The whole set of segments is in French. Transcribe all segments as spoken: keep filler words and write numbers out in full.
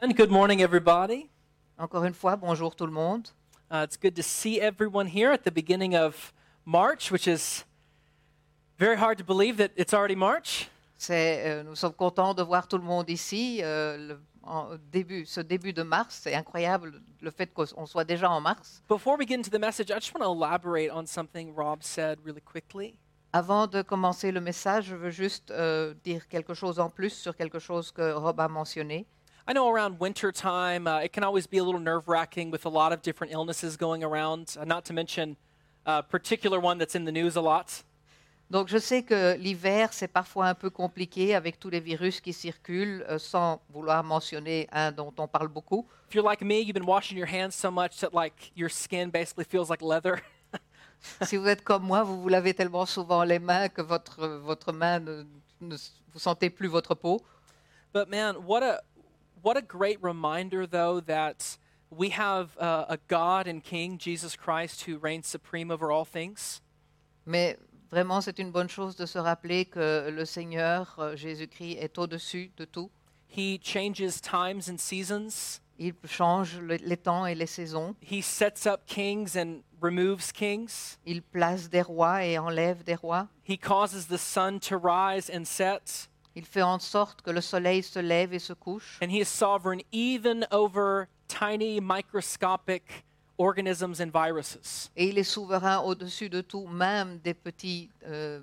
And good morning, everybody. Encore une fois, bonjour tout le monde. Uh, it's good to see everyone here at the beginning of March, which is very hard to believe that it's already March. C'est, euh, nous sommes contents de voir tout le monde ici. euh, le, en début, ce début de mars, c'est incroyable le fait qu'on soit déjà en mars. Before we get into the message, I just want to elaborate on something Rob said really quickly. Avant de commencer le message, je veux juste euh, dire quelque chose en plus sur quelque chose que Rob a mentionné. I know around winter time, uh, it can always be a little nerve-wracking with a lot of different illnesses going around, uh, not to mention a particular one that's in the news a lot. Donc je sais que l'hiver, c'est parfois un peu compliqué avec tous les virus qui circulent, euh, sans vouloir mentionner un dont on parle beaucoup. If you're like me, you've been washing your hands so much that like your skin basically feels like leather. Si vous êtes comme moi, vous vous lavez tellement souvent les mains que votre, votre main ne, ne vous sentez plus votre peau. But man, what a what a great reminder though that we have uh, a God and King, Jesus Christ, who reigns supreme over all things. Mais vraiment, c'est une bonne chose de se rappeler que le Seigneur, euh, Jésus-Christ, est au-dessus de tout. He changes times and seasons. Il change le- les temps et les saisons. He sets up kings and removes kings. Il place des rois et enlève des rois. He causes the sun to rise and set. Il fait en sorte que le soleil se lève et se couche. And he is sovereign even over tiny microscopic organisms and viruses. Et il est souverain au-dessus de tout, même des petits euh,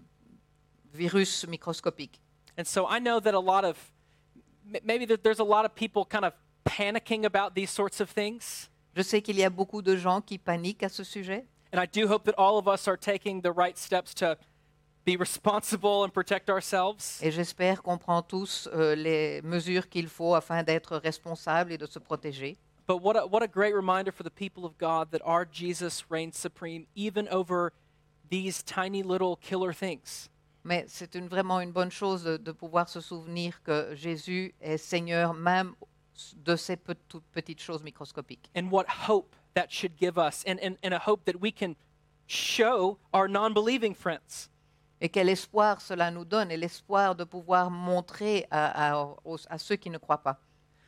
virus microscopiques. And so I know that a lot of, m- maybe that there's a lot of people kind of panicking about these sorts of things. Je sais qu'il y a beaucoup de gens qui paniquent à ce sujet. And I do hope that all of us are taking the right steps to be responsible and protect ourselves. Et j'espère qu'on prend tous euh, les mesures qu'il faut afin d'être responsables et de se protéger. But what a, what a great reminder for the people of God that our Jesus reigns supreme even over these tiny little killer things. Mais c'est une, vraiment une bonne chose de, de pouvoir se souvenir que Jésus est Seigneur même de ces pe- toutes petites choses microscopiques. And what hope that should give us, and, and, and a hope that we can show our non-believing friends. Et quel espoir cela nous donne, et l'espoir de pouvoir montrer à, à- aux- à ceux qui ne croient pas.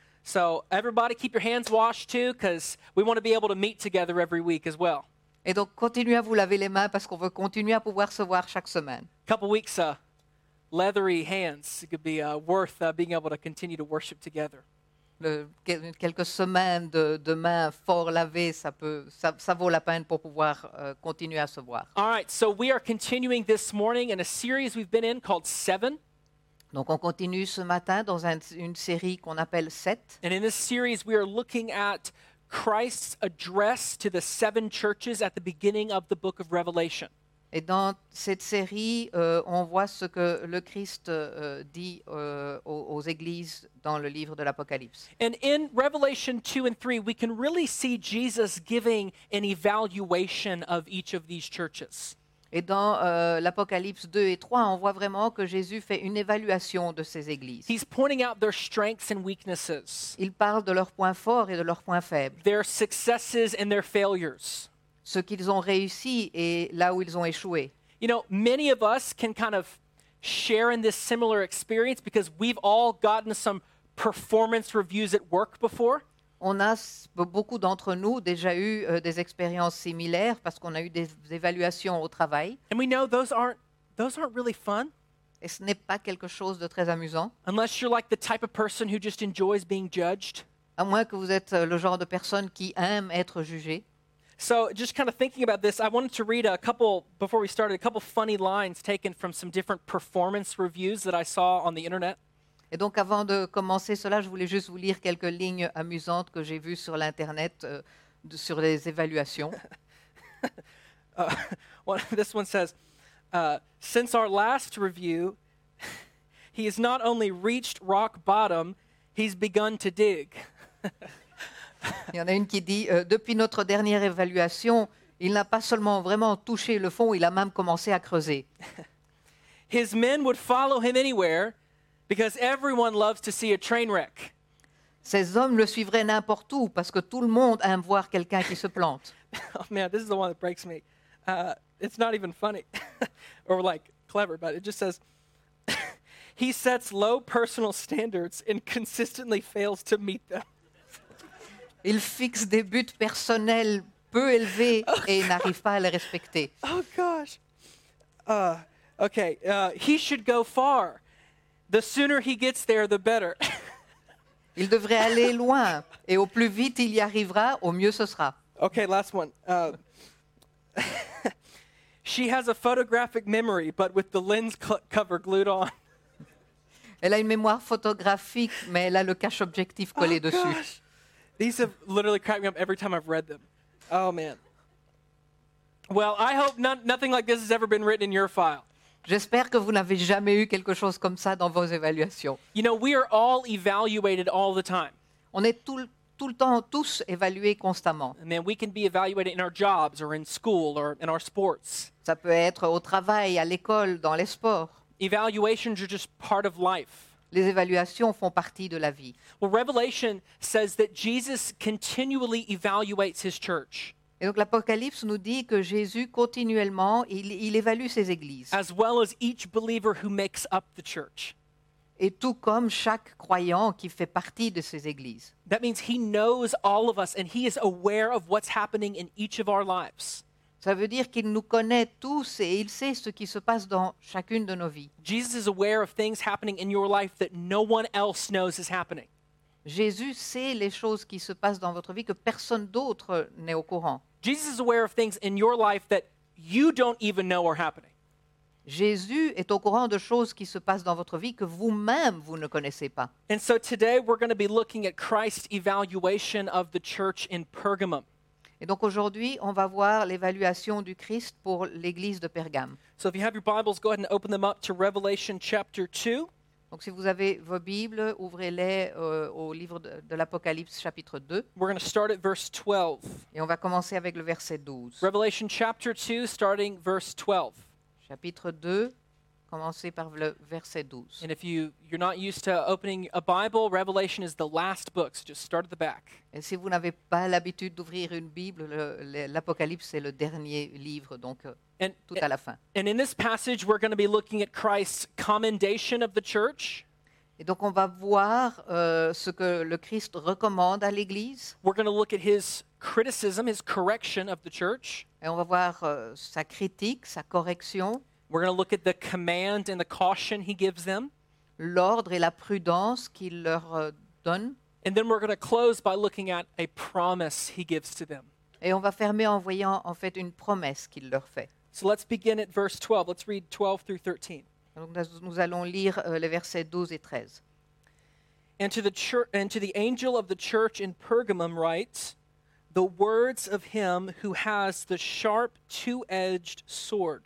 So everybody keep your hands washed too, because we want to be able to meet together every week as well. Et donc continuez à vous laver les mains parce qu'on veut continuer à pouvoir se voir chaque semaine. Couple weeks, uh, leathery hands. It could be uh, worth uh, being able to continue to worship together. Le- quel- quelques semaines de, de mains fort lavées, ça, peut, ça, ça vaut la peine pour pouvoir euh, continuer à se voir. All right, so we are continuing this morning in a series we've been in called Seven. Donc on continue ce matin dans un- une série qu'on appelle sept. And in this series, we are looking at Christ's address to the seven churches at the beginning of the book of Revelation. Et dans cette série, euh, on voit ce que le Christ euh, dit euh, aux, aux églises dans le livre de l'Apocalypse. And in Revelation two and three, we can really see Jesus giving an evaluation of each of these churches. Et dans euh, l'Apocalypse deux et trois, on voit vraiment que Jésus fait une évaluation de ces églises. He's pointing out their strengths and weaknesses, Il parle de leurs points forts et de leurs points faibles, their successes and their failures. ce qu'ils ont réussi et là où ils ont échoué. You know, many of us can kind of share in this similar experience because we've all gotten some performance reviews at work before. On a, s- beaucoup d'entre nous, déjà eu euh, des expériences similaires parce qu'on a eu des évaluations au travail. And we know those aren't those aren't really fun Et ce n'est pas quelque chose de très amusant, unless you're like the type of person who just enjoys being judged. à moins que vous êtes euh, le genre de personne qui aime être jugé. So, just kind of thinking about this, I wanted to read a couple before we started, a couple funny lines taken from some different performance reviews that I saw on the internet. Et donc, avant de commencer cela, je voulais juste vous lire quelques lignes amusantes que j'ai vues sur l'Internet euh, de- sur les évaluations. Uh, one, this one says, uh, since our last review, he has not only reached rock bottom, he's begun to dig. Il y en a une qui dit euh, depuis notre dernière évaluation, il n'a pas seulement vraiment touché le fond, il a même commencé à creuser. His men would follow him anywhere because everyone loves to see a train wreck. Ces hommes le suivraient n'importe où parce que tout le monde aime voir quelqu'un qui se plante. Oh man, this is the one that breaks me. Uh, it's not even funny or like clever, but it just says, he sets low personal standards and consistently fails to meet them. Il fixe des buts personnels peu élevés et n'arrive pas à les respecter. Oh gosh. Uh, okay, uh, he should go far. The sooner he gets there, the better. Il devrait aller loin et au plus vite il y arrivera, au mieux ce sera. Okay, last one. Uh, she has a photographic memory, but with the lens cl- cover glued on. Elle a une mémoire photographique, mais elle a le cache-objectif collé Oh, dessus. gosh. These have literally cracked me up every time I've read them. Oh, man. Well, I hope none, nothing like this has ever been written in your file. J'espère que vous n'avez jamais eu quelque chose comme ça dans vos évaluations. You know, we are all evaluated all the time. On est tout, le- tout le temps tous évalués constamment. And then we can be evaluated in our jobs or in school or in our sports. Ça peut être au travail, à l'école, dans les sports. Evaluations are just part of life. Les évaluations font partie de la vie. Well, Revelation says that Jesus continually evaluates his church, Et donc l'Apocalypse nous dit que Jésus, continuellement, il, il évalue ses églises. as well as each believer who makes up the church. Et tout comme chaque croyant qui fait partie de ces églises. That means he knows all of us and he is aware of what's happening in each of our lives. Ça veut dire qu'il nous connaît tous et il sait ce qui se passe dans chacune de nos vies. Jesus is aware of things happening in your life that no one else knows is happening. Jésus sait les choses qui se passent dans votre vie que personne d'autre n'est au courant. Jesus is aware of things in your life that you don't even know are happening. Jésus est au courant de choses qui se passent dans votre vie que vous-même, vous ne connaissez pas. And so today we're going to be looking at Christ's evaluation of the church in Pergamum. Et donc aujourd'hui, on va voir l'évaluation du Christ pour l'église de Pergame. So if you have your Bibles, go ahead and open them up to Revelation chapter two. Donc si vous avez vos Bibles, ouvrez-les euh, au livre de, de l'Apocalypse chapitre deux. We're going to start at verse twelve. Et on va commencer avec le verset douze. Revelation chapter two, starting verse twelve. Chapitre deux, commencez par le verset douze. And if you, you're not used to opening a Bible, Revelation is the last book, so just start at the back. Et si vous n'avez pas l'habitude d'ouvrir une Bible, le- le- l'Apocalypse c'est le dernier livre, donc euh, And, tout à la fin. and in this passage, we're going to be looking at Christ's commendation of the church. Et donc on va voir euh, ce que le Christ recommande à l'Église, We're going to look at his criticism, his correction of the church. et on va voir euh, sa critique, sa correction, We're going to look at the command and the caution he gives them. l'ordre et la prudence qu'il leur euh, donne. And then we're going to close by looking at a promise he gives to them. Et on va fermer en voyant en fait une promesse qu'il leur fait. So let's begin at verse twelve. Let's read twelve through thirteen. Donc nous- nous allons lire euh, les versets douze et treize. And to the church and to the angel of the church in Pergamum write, the words of him who has the sharp two-edged sword.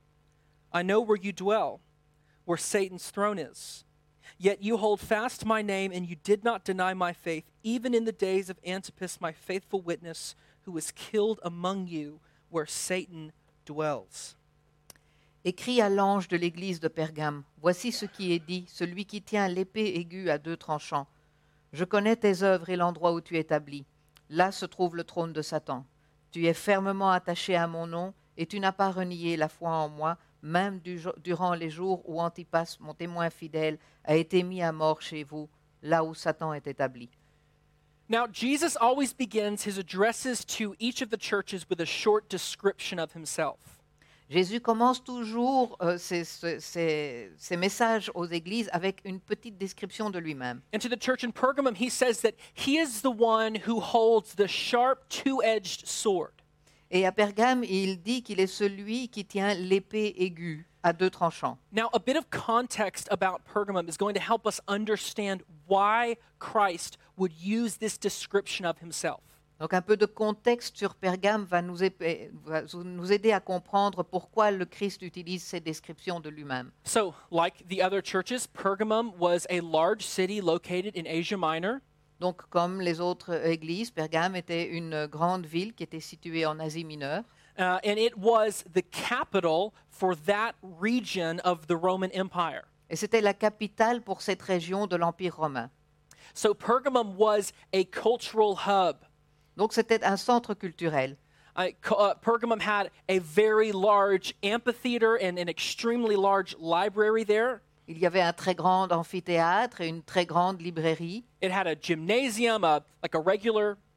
I know where you dwell, where Satan's throne is. Yet you hold fast my name, and you did not deny my faith, even in the days of Antipas, my faithful witness, who was killed among you, where Satan dwells. Écrit à l'ange de l'église de Pergame, voici ce qui est dit, celui qui tient l'épée aiguë à deux tranchants. Je connais tes œuvres et l'endroit où tu es établi. Là se trouve le trône de Satan. Tu es fermement attaché à mon nom et tu n'as pas renié la foi en moi, même du jo- durant les jours où Antipas, mon témoin fidèle, a été mis à mort chez vous, là où Satan est établi. Now, Jesus always begins his addresses to each of the churches with a short description of himself. Jésus commence toujours euh, ses, ses- ses- ses messages aux églises avec une petite description de lui-même. And to the church in Pergamum, he says that he is the one who holds the sharp two-edged sword. Et à Pergame, il dit qu'il est celui qui tient l'épée aiguë à deux tranchants. Now, a bit of context about Pergamum is going to help us understand why Christ would use this description of himself. Donc un peu de contexte sur Pergame va nous, épais- va nous aider à comprendre pourquoi le Christ utilise ces descriptions de lui-même. So, like the other churches, Pergamum was a large city located in Asia Minor. Donc comme les autres églises, Pergame était une grande ville qui était située en Asie mineure. Uh, and it was the capital for that region of the Roman Empire. Et c'était la capitale pour cette région de l'Empire romain. So Pergamum was a cultural hub. Donc c'était un centre culturel. Uh, co- uh, Pergamum had a very large amphitheater and an extremely large library there. Il y avait un très grand amphithéâtre et une très grande librairie. It had a gymnasium, a, like a regular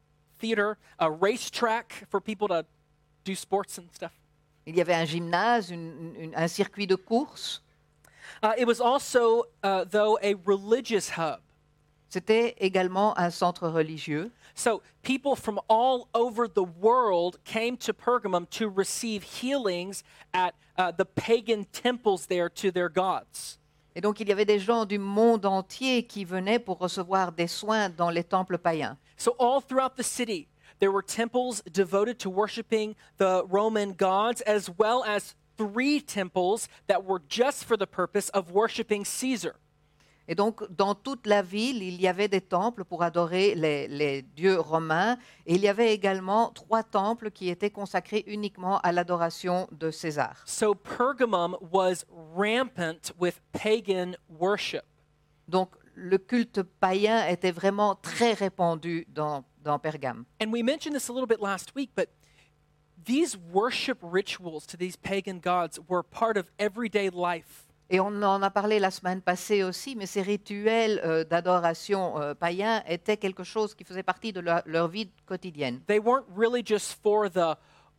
theater, a racetrack for people to do sports and stuff. Il y avait un gymnase, une- une- un circuit de course. Uh, it was also, uh, though, a religious hub. C'était également un centre religieux. So people from all over the world came to Pergamum to receive healings at uh, the pagan temples there to their gods. Et donc il y avait des gens du monde entier qui venaient pour recevoir des soins dans les temples païens. So all throughout the city, there were temples devoted to worshiping the Roman gods, as well as three temples that were just for the purpose of worshiping Caesar. Et donc, dans toute la ville, il y avait des temples pour adorer les, les dieux romains. Et il y avait également trois temples qui étaient consacrés uniquement à l'adoration de César. So Pergamum was rampant with pagan worship. Donc, le culte païen était vraiment très répandu dans, dans Pergame. And we mentioned this a little bit last week, but these worship rituals to these pagan gods were part of everyday life. Et on en a parlé la semaine passée aussi, mais ces rituels euh, d'adoration euh, païens étaient quelque chose qui faisait partie de leur, leur vie quotidienne. They weren't really just for the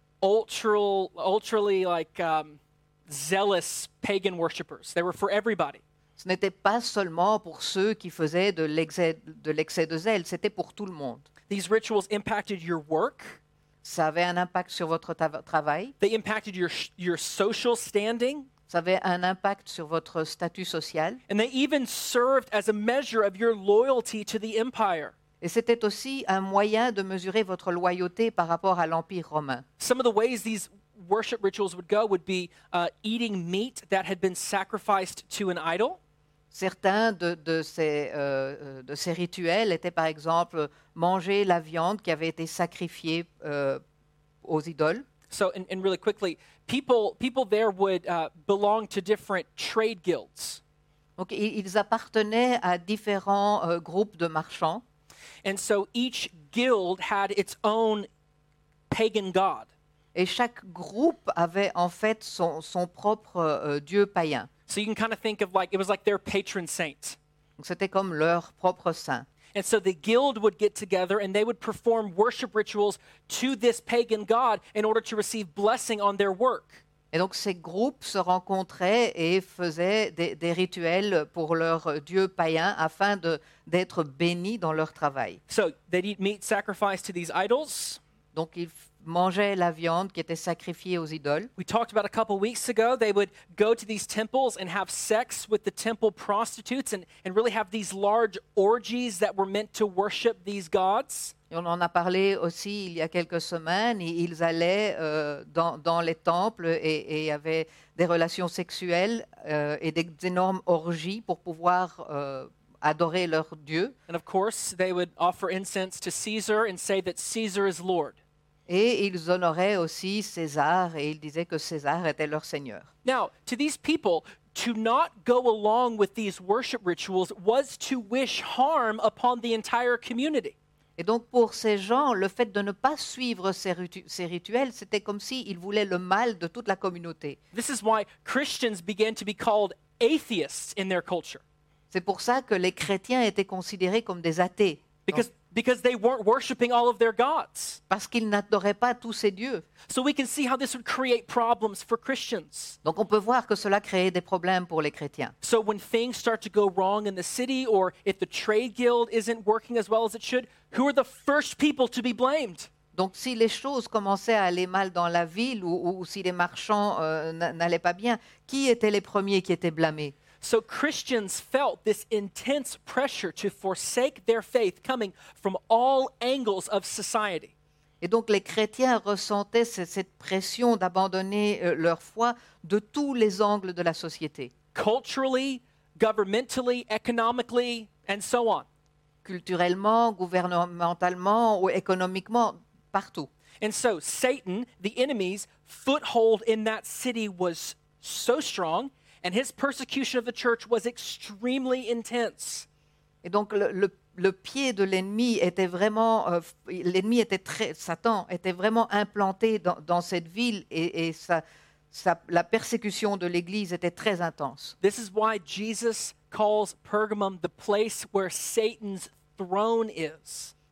ultra, ultrally like um, zealous pagan worshipers. They were for everybody. Ce n'était pas seulement pour ceux qui faisaient de l'excès de, l'excès de zèle, c'était pour tout le monde. These rituals impacted your work. Ça avait un impact sur votre ta- travail, They impacted your your social standing, ça avait un impact sur votre statut social, and they even served as a measure of your loyalty to the empire. et c'était aussi un moyen de mesurer votre loyauté par rapport à l'Empire romain. Some of the ways these worship rituals would go would be uh, eating meat that had been sacrificed to an idol. Certains de, de ces, euh, euh, de ces rituels étaient par exemple manger la viande qui avait été sacrifiée euh, aux idoles. So, and, and really quickly, people people there would uh, belong to different trade guilds. Donc i- ils appartenaient à différents euh, groupes de marchands. And so each guild had its own pagan god. Et chaque groupe avait en fait son, son propre euh, dieu païen. So you can kind of think of like, it was like their patron saint. Donc c'était comme leur propre saint. And so the guild would get together and they would perform worship rituals to this pagan god in order to receive blessing on their work. Et donc ces groupes se rencontraient et faisaient des, des rituels pour leur dieu païen afin de, d'être bénis dans leur travail. So they'd eat meat sacrificed to these idols. Donc ils f- mangeaient la viande qui était sacrifiée aux idoles. We talked about a couple weeks ago, they would go to these temples and have sex with the temple prostitutes and, and really have these large orgies that were meant to worship these gods. Et on en a parlé aussi il y a quelques semaines. et Ils allaient euh, dans, dans les temples et, et avaient des relations sexuelles euh, et des énormes orgies pour pouvoir euh, adorer leur Dieu. And of course, they would offer incense to Caesar and say that Caesar is Lord. Et ils honoraient aussi César et ils disaient que César était leur seigneur. Now, to these people, to not go along with these worship rituals was to wish harm upon the entire community. Et donc pour ces gens, le fait de ne pas suivre ces, ritu- ces rituels, c'était comme s'ils voulaient le mal de toute la communauté. This is why Christians began to be called atheists in their culture, C'est pour ça que les chrétiens étaient considérés comme des athées, because, because they weren't worshiping all of their gods. parce qu'ils n'adoraient pas tous ces dieux. So we can see how this would create problems for Christians. Donc on peut voir que cela créait des problèmes pour les chrétiens. So when things start to go wrong in the city, or if the trade guild isn't working as well as it should, who are the first people to be blamed? Donc si les choses commençaient à aller mal dans la ville ou, ou- ou si les marchands euh, n- n'allaient pas bien, qui étaient les premiers qui étaient blâmés? So Christians felt this intense pressure to forsake their faith coming from all angles of society. Et donc les chrétiens ressentaient ce- cette pression d'abandonner euh, leur foi de tous les angles de la société, Culturally, governmentally, economically, and so on. culturellement, gouvernementalement ou économiquement, partout. And so Satan, the enemy's foothold in that city was so strong, and his persecution of the church was extremely intense. Et donc le, le- le pied de l'ennemi était vraiment, euh, f- l'ennemi était très, Satan était vraiment implanté dans, dans cette ville et, et sa- sa- la persécution de l'Église était très intense. This is why Jesus calls Pergamum the place where Satan's throne is.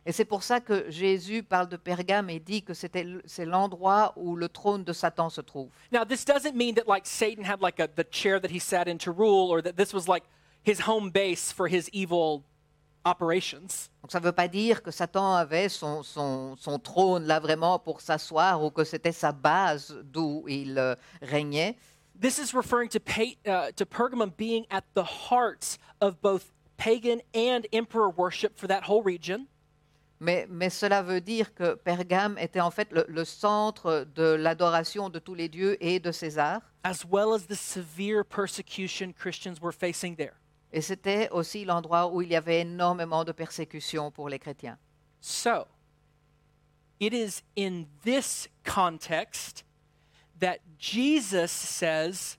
Et c'est pour ça que Jésus parle de Pergame et dit que c'était l- c'est l'endroit où le trône de Satan se trouve. Now, this doesn't mean that like Satan had like a, the chair that he sat in to rule, or that this was like his home base for his evil operations. Donc ça ne veut pas dire que Satan avait son, son, son trône là vraiment pour s'asseoir ou que c'était sa base d'où il euh, régnait. This is referring to, pa- uh, to Pergamum being at the heart of both pagan and emperor worship for that whole region. Mais, mais cela veut dire que Pergame était en fait le, le centre de l'adoration de tous les dieux et de César. As well as the severe persecution Christians were facing there. Et c'était aussi l'endroit où il y avait énormément de persécutions pour les chrétiens. So, it is in this context that Jesus says,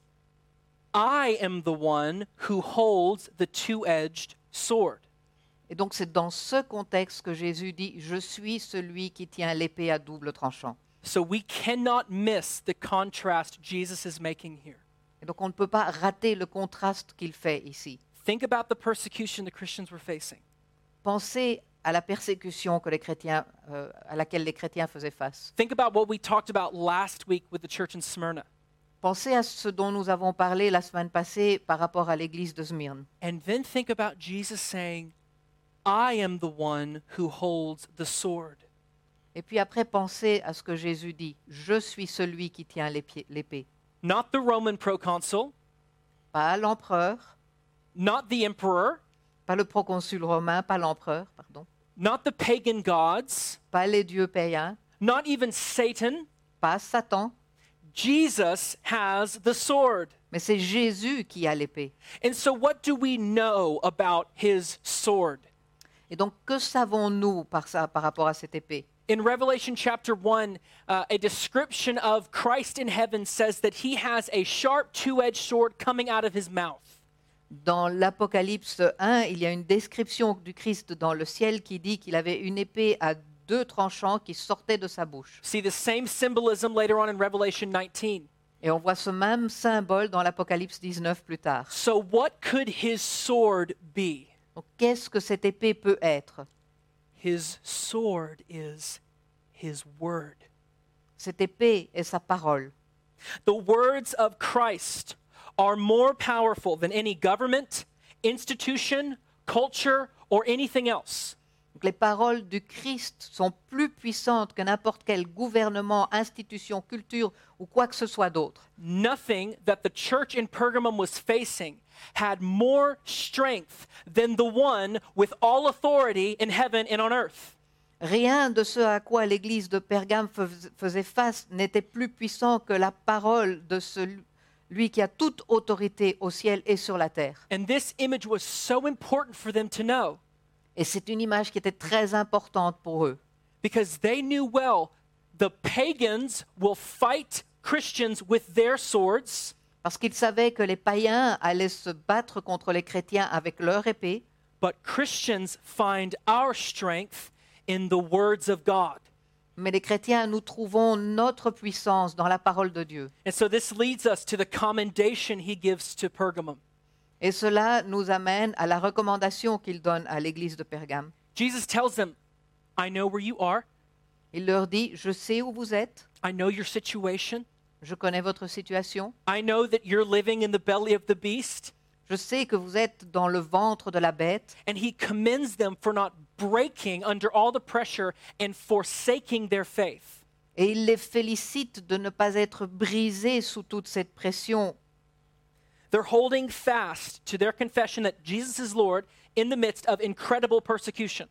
I am the one who holds the two-edged sword. Et donc c'est dans ce contexte que Jésus dit « Je suis celui qui tient l'épée à double tranchant So we cannot miss the contrast Jesus is making here. ». Et donc on ne peut pas rater le contraste qu'il fait ici. Think about the persecution the Christians were facing. Pensez à la persécution que les chrétiens, euh, à laquelle les chrétiens faisaient face. Think about what we talked about last week with the church in Smyrna. Pensez à ce dont nous avons parlé la semaine passée par rapport à l'église de Smyrne. And then think about Jesus saying, I am the one who holds the sword. Et puis après, pensez à ce que Jésus dit « Je suis celui qui tient l'épée. l'épée. Not the Roman proconsul, » Pas l'empereur, not the emperor, pas le proconsul romain, pas l'empereur, pardon, not the pagan gods, pas les dieux païens, not even Satan. pas Satan, Jesus has the sword. mais c'est Jésus qui a l'épée. And so, what do we know about his sword? Et donc, que savons-nous par ça, par rapport à cette épée? In Revelation chapter one, uh, a description of Christ in heaven says that he has a sharp two-edged sword coming out of his mouth. Dans l'Apocalypse un, il y a une description du Christ dans le ciel qui dit qu'il avait une épée à deux tranchants qui sortait de sa bouche. See the same symbolism later on in Revelation nineteen. Et on voit ce même symbole dans l'Apocalypse dix-neuf plus tard. So, what could his sword be? Donc, qu'est-ce que cette épée peut être? His sword is his word. Cette épée est sa parole. The words of Christ are more powerful than any government, institution, culture, or anything else. Donc, les paroles du Christ sont plus puissantes que n'importe quel gouvernement, institution, culture ou quoi que ce soit d'autre. Nothing that the church in Pergamum was facing had more strength than the one with all authority in heaven and on earth. Rien de ce à quoi l'église de Pergame fais- faisait face n'était plus puissant que la parole de celui qui a toute autorité au ciel et sur la terre. And this image was so important for them to know Et c'est une image qui était très importante pour eux. because they knew well the pagans will fight Christians with their swords, Parce qu'ils savaient que les païens allaient se battre contre les chrétiens avec leur épée, but Christians find our strength in the words of God. mais les chrétiens, nous trouvons notre puissance dans la parole de Dieu. And so this leads us to the commendation he gives to Pergamum. Et cela nous amène à la recommandation qu'il donne à l'église de Pergame. Jesus tells them, I know where you are. Il leur dit, je sais où vous êtes, I know your situation. je connais votre situation, I know that you're living in the belly of the beast. je sais que vous êtes dans le ventre de la bête. And he commends them for not breaking under all the pressure and forsaking their faith. Et il les félicite de ne pas être brisés sous toute cette pression. They're holding fast to their confession that Jesus is Lord in the midst of incredible persecution.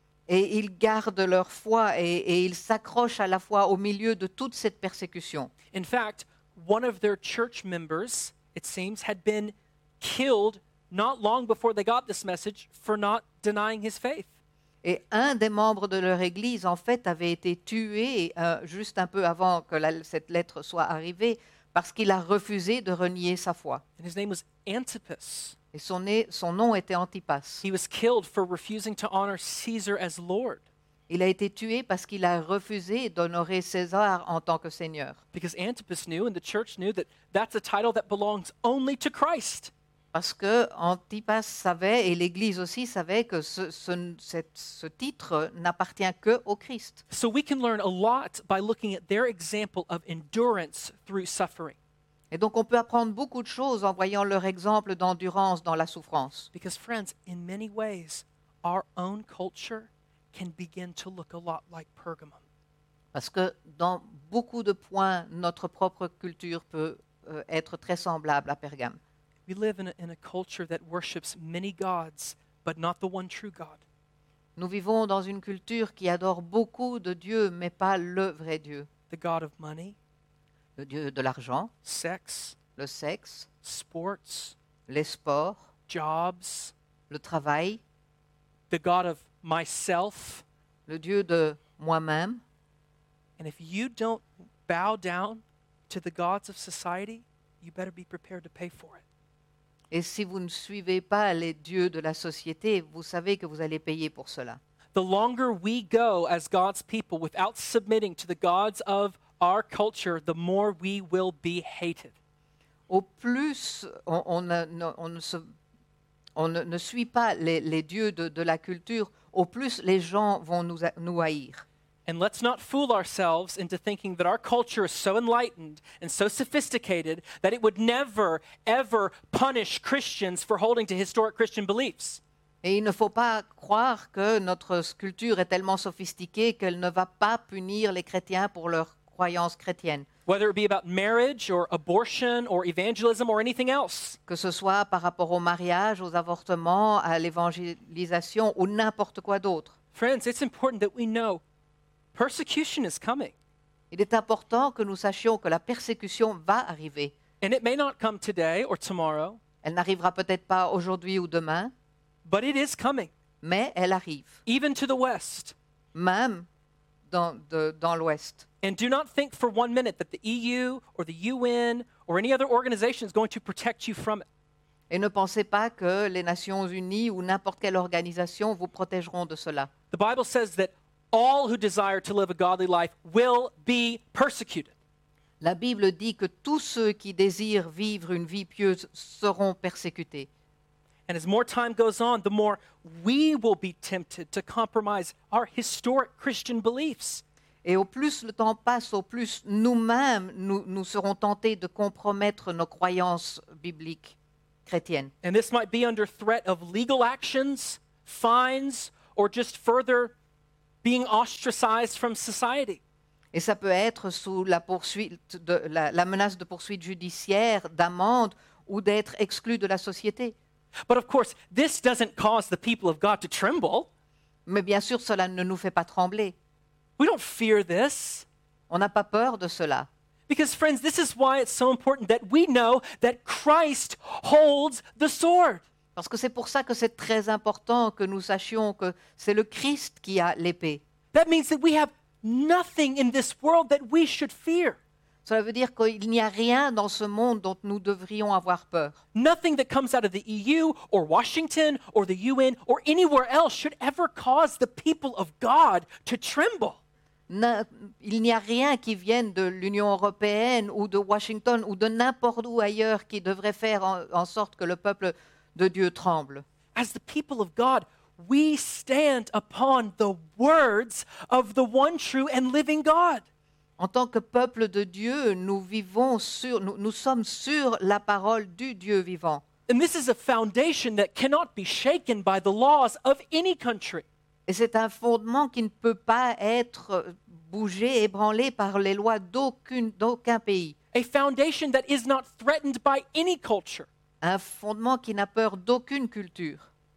Et ils gardent leur foi et, et ils s'accrochent à la foi au milieu de toute cette persécution. In fact, one of their church members, it seems, had been killed not long before they got this message for not denying his faith. Et un des membres de leur église, en fait, avait été tué euh, juste un peu avant que la- cette lettre soit arrivée parce qu'il a refusé de renier sa foi. And his name was Antipas. Et son, nez- son nom était Antipas. He was killed for refusing to honor Caesar as Lord Il a été tué parce qu'il a refusé d'honorer César en tant que Seigneur. because Antipas knew and the church knew that that's a title that belongs only to Christ. Parce que Antipas savait, et l'Église aussi savait, que ce, ce- cette- ce titre n'appartient que au Christ. So we can learn a lot by looking at their example of endurance through suffering. Et donc on peut apprendre beaucoup de choses en voyant leur exemple d'endurance dans la souffrance. Because, friends, in many ways, our own culture can begin to look a lot like Pergamum. Parce que dans beaucoup de points, notre propre culture peut euh, être très semblable à Pergame. We live in a, in a culture that worships many gods, but not the one true God. Nous vivons dans une culture qui adore beaucoup de dieux, mais pas le vrai Dieu. The God of money, Le Dieu de l'argent, sex, le sexe, sports, les sports, jobs, le travail, the God of myself. le Dieu de moi-même. And if you don't bow down to the gods of society, you better be prepared to pay for it. Et si vous ne suivez pas les dieux de la société, vous savez que vous allez payer pour cela. The longer we go as God's people without submitting to the gods of our culture, the more we will be hated. Au plus on, on ne, ne- on ne se- on ne- ne suit pas les, les dieux de, de la culture, au plus les gens vont nous, ha- nous haïr. And let's not fool ourselves into thinking that our culture is so enlightened and so sophisticated that it would never, ever punish Christians for holding to historic Christian beliefs. Et il ne faut pas croire que notre culture est tellement sophistiquée qu'elle ne va pas punir les chrétiens pour leurs croyances chrétiennes, Whether it be about marriage or abortion or evangelism or anything else. que ce soit par rapport au mariage, aux avortements, à l'évangélisation ou n'importe quoi d'autre. Friends, it's important that we know persecution is coming. Il est important que nous sachions que la persécution va arriver. And it may not come today or tomorrow, Elle n'arrivera peut-être pas aujourd'hui ou demain, but it is coming, mais elle arrive, even to the West. même dans, de- dans l'Ouest. And do not think for one minute that the E U or the U N or any other organization is going to protect you from it. Et ne pensez pas que les Nations Unies ou n'importe quelle organisation vous protégeront de cela. The Bible says that all who desire to live a godly life will be persecuted. La Bible dit que tous ceux qui désirent vivre une vie pieuse seront persécutés. And as more time goes on, the more we will be tempted to compromise our historic Christian beliefs. Et au plus le temps passe, au plus nous-mêmes, nous, nous serons tentés de compromettre nos croyances bibliques chrétiennes. And this might be under threat of legal actions, fines, or just further being ostracized from society. Et ça peut être sous la, poursuite de, la, la menace de poursuite judiciaire, d'amende ou d'être exclu de la société. But of course, this doesn't cause the people of God to tremble. Mais bien sûr, cela ne nous fait pas trembler. We don't fear this. On n'a pas peur de cela. Because, friends, this is why it's so important that we know that Christ holds the sword. Parce que c'est pour ça que c'est très important que nous sachions que c'est le Christ qui a l'épée. That means that we have nothing in this world that we should fear. Cela veut dire qu'il n'y a rien dans ce monde dont nous devrions avoir peur. Nothing that comes out of the E U or Washington or the U N or anywhere else should ever cause the people of God to tremble. Na- Il n'y a rien qui vienne de l'Union européenne ou de Washington ou de n'importe où ailleurs qui devrait faire en, en sorte que le peuple de Dieu tremble. As the people of God, we stand upon the words of the one true and living God. En tant que peuple de Dieu, nous vivons sur, nous, nous sommes sur la parole du Dieu vivant. And this is a foundation that cannot be shaken by the laws of any country. Et c'est un fondement qui ne peut pas être bougé, ébranlé par les lois d'aucune- d'aucun pays. A foundation that is not threatened by any culture. Un fondement qui n'a peur d'aucune culture.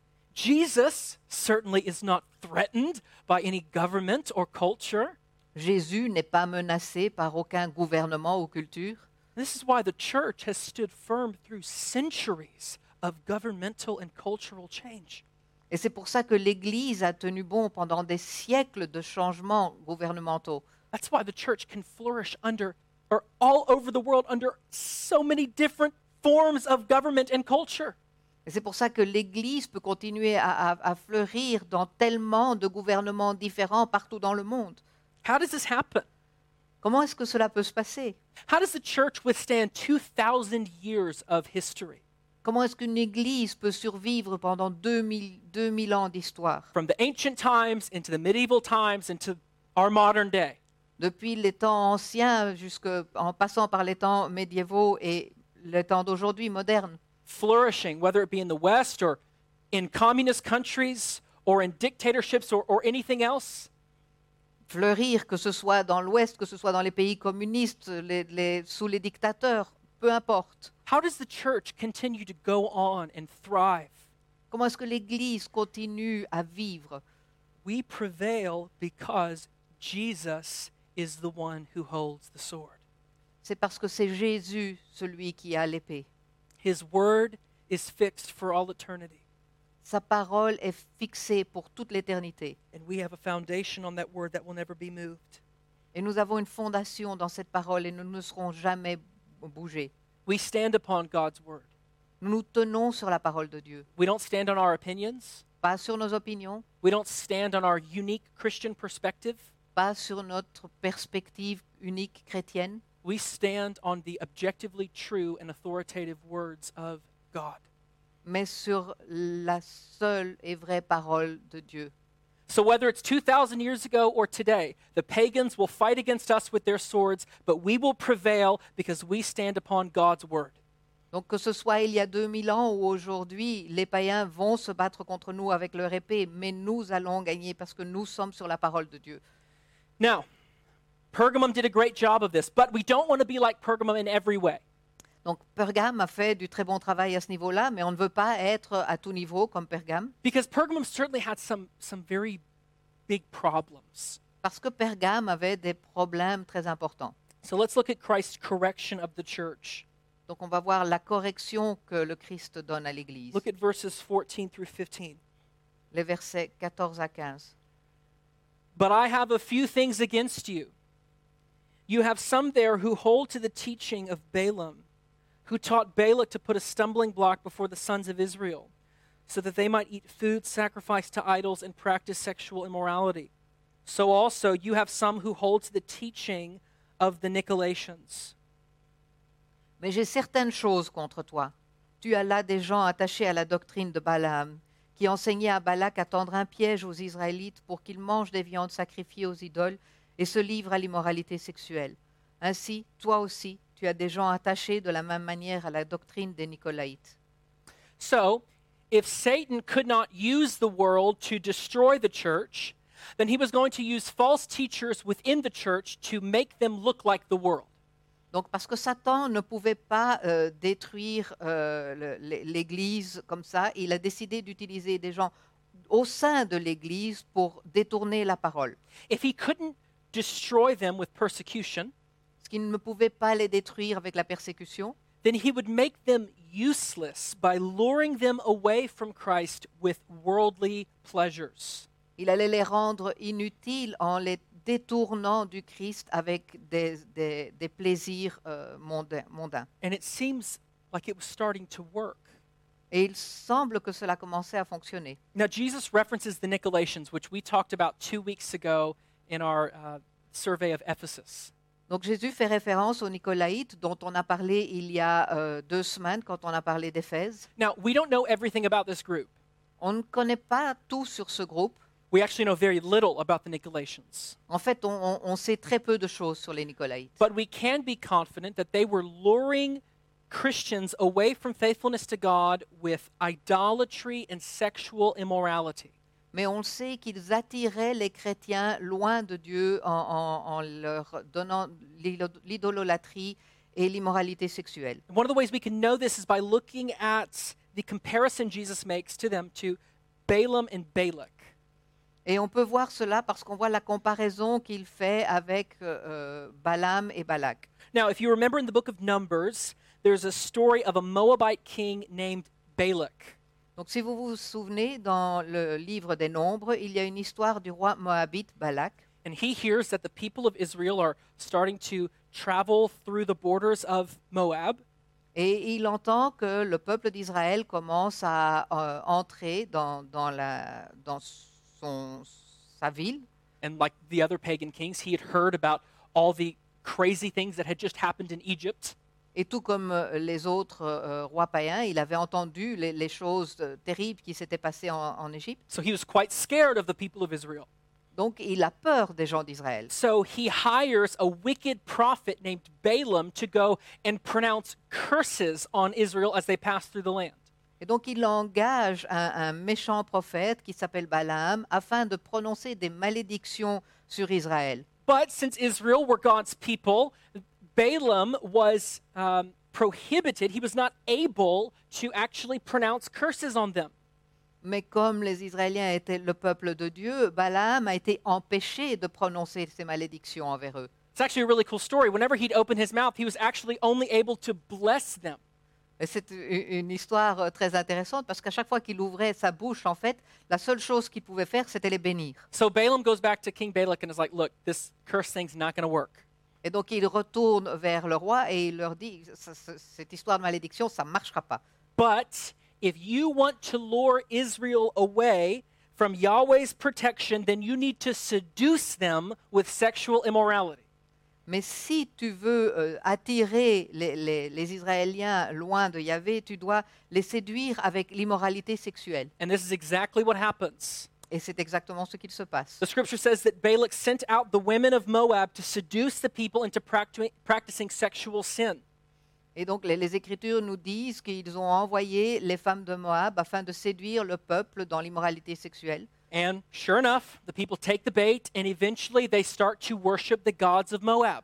Jesus certainly is not threatened by any government or culture. Jésus n'est pas menacé par aucun gouvernement ou culture. This is why the church has stood firm through centuries of governmental and cultural change. Et c'est pour ça que l'Église a tenu bon pendant des siècles de changements gouvernementaux. That's why the church can flourish under or all over the world under so many different forms of government and culture. Et c'est pour ça que l'Église peut continuer à, à- à fleurir dans tellement de gouvernements différents partout dans le monde. How does this happen? Comment est-ce que cela peut se passer? How does the church withstand two thousand years of history? Comment est-ce qu'une église peut survivre pendant deux mille, deux mille ans d'histoire? From the ancient times into the medieval times into our modern day. Depuis les temps anciens jusqu'en passant par les temps médiévaux et les temps d'aujourd'hui modernes. Flourishing, whether it be in the West or in communist countries or in dictatorships or, or anything else. Fleurir, que ce soit dans l'Ouest, que ce soit dans les pays communistes, les- les- sous les dictateurs, peu importe. How does the church continue to go on and thrive? Comment est-ce que l'Église continue à vivre? We prevail because Jesus is the one who holds the sword. C'est parce que c'est Jésus, celui qui a l'épée. His word is fixed for all eternity. Sa parole est fixée pour toute l'éternité. And we have a foundation on that word that will never be moved. Et nous avons une fondation dans cette parole et nous ne serons jamais bougés. We stand upon God's word. Nous nous tenons sur la parole de Dieu, We don't stand on our opinions. pas sur nos opinions, We don't stand on our unique Christian perspective. pas sur notre perspective unique chrétienne, We stand on the objectively true and authoritative words of God. mais sur la seule et vraie parole de Dieu. So whether it's two thousand years ago or today, the pagans will fight against us with their swords, but we will prevail because we stand upon God's word. Donc que ce soit il y a deux mille ans ou aujourd'hui, les païens vont se battre contre nous avec leur épée, mais nous allons gagner parce que nous sommes sur la parole de Dieu. Now, Pergamum did a great job of this, but we don't want to be like Pergamum in every way. Donc Pergame a fait du très bon travail à ce niveau-là, mais on ne veut pas être à tout niveau comme Pergame, Because Pergamum certainly had some, some very big problems. parce que Pergame avait des problèmes très importants. So let's look at Christ's correction of the church. Donc on va voir la correction que le Christ donne à l'Église. Look at verses fourteen through fifteen. Les versets quatorze à quinze. But I have a few things against you. You have some there who hold to the teaching of Balaam, who taught Balak to put a stumbling block before the sons of Israel, so that they might eat food sacrificed to idols and practice sexual immorality. So also you have some who hold to the teaching of the Nicolaitans. Mais j'ai certaines choses contre toi. Tu as là des gens attachés à la doctrine de Balaam, qui enseignaient à Balak à tendre un piège aux Israélites pour qu'ils mangent des viandes sacrifiées aux idoles et se livrent à l'immoralité sexuelle. Ainsi, toi aussi, tu as des gens attachés de la même manière à la doctrine des Nicolaïtes. So, if Satan could not use the world to destroy the church, then he was going to use false teachers within the church to make them look like the world. Donc, parce que Satan ne pouvait pas euh, détruire euh, le- l'Église comme ça, il a décidé d'utiliser des gens au sein de l'Église pour détourner la parole. If he couldn't destroy them with persecution, Parce qu'il ne pouvait pas les détruire avec la persécution, then he would make them useless by luring them away from Christ with worldly pleasures. il allait les rendre inutiles en les détournant du Christ avec des, des- des plaisirs euh, mondains, mondains. And it seems like it was starting to work. Et il semble que cela commençait à fonctionner. Now, Jesus references the Nicolaitans, which we talked about two weeks ago in our uh, survey of Ephesus. Donc Jésus fait référence aux Nicolaïtes dont on a parlé il y a euh, deux semaines quand on a parlé d'Éphèse. Now, we don't know everything about this group. On ne connaît pas tout sur ce groupe. We actually know very little about the Nicolaitans. En fait, on, on- on sait très peu de choses sur les Nicolaïtes. But we can be confident that they were luring Christians away from faithfulness to God with idolatry and sexual immorality. Mais on sait qu'ils attiraient les chrétiens loin de Dieu en, en- en leur donnant l'ilo- l'idolâtrie et l'immoralité sexuelle. And one of the ways we can know this is by looking at the comparison Jesus makes to them to Balaam and Balak. Et on peut voir cela parce qu'on voit la comparaison qu'il fait avec euh, euh, Balaam et Balak. Now, if you remember in the book of Numbers, there's a story of a Moabite king named Balak. Donc si vous vous souvenez, dans le livre des Nombres, il y a une histoire du roi moabite Balak. And he hears that the people of Israel are starting to travel through the borders of Moab. Et il entend que le peuple d'Israël commence à euh, entrer dans, dans, la, dans son, sa ville. And like the other pagan kings, he had heard about all the crazy things that had just happened in Egypt. Et tout comme euh, les autres euh, rois païens, il avait entendu les, les choses euh, terribles qui s'étaient passées en, en Égypte. So he was quite scared of the people of Israel. Donc il a peur des gens d'Israël. So he hires a wicked prophet named Balaam to go and pronounce curses on Israel as they pass through the land. Et donc il engage un, un méchant prophète qui s'appelle Balaam afin de prononcer des malédictions sur Israël. But since Israel were God's people, Balaam was um, prohibited. He was not able to actually pronounce curses on them. Mais comme les Israéliens étaient le peuple de Dieu, Balaam a été empêché de prononcer ces malédictions envers eux. It's actually a really cool story. Whenever he'd open his mouth, he was actually only able to bless them. Et c'est u- une histoire euh, très intéressante parce qu'à chaque fois qu'il ouvrait sa bouche, en fait, la seule chose qu'il pouvait faire, c'était les bénir. So Balaam goes back to King Balak and is like, look, this curse thing's not going to work. Et donc il retourne vers le roi et il leur dit, Ça- ça- cette histoire de malédiction, ça ne marchera pas. But if you want to lure Israel away from Yahweh's protection, then you need to seduce them with sexual immorality. Mais si tu veux euh, attirer les, les- les Israéliens loin de Yahvé, tu dois les séduire avec l'immoralité sexuelle. And this is exactly what happens. Et c'est exactement ce qu'il se passe. The scripture says that Balak sent out the women of Moab to seduce the people into practi- practicing sexual sin. Et donc les, les Écritures nous disent qu'ils ont envoyé les femmes de Moab afin de séduire le peuple dans l'immoralité sexuelle. And sure enough, the people take the bait and eventually they start to worship the gods of Moab.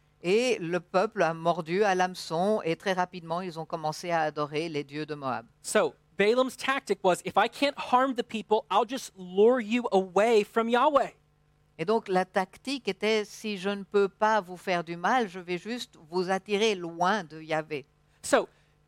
Et le peuple a mordu à l'hameçon et très rapidement ils ont commencé à adorer les dieux de Moab. So Balaam's tactic was, if I can't harm the people, I'll just lure you away from Yahweh. Et donc la tactique était, si je ne peux pas vous faire du mal, je vais juste vous attirer loin de Yahvé. So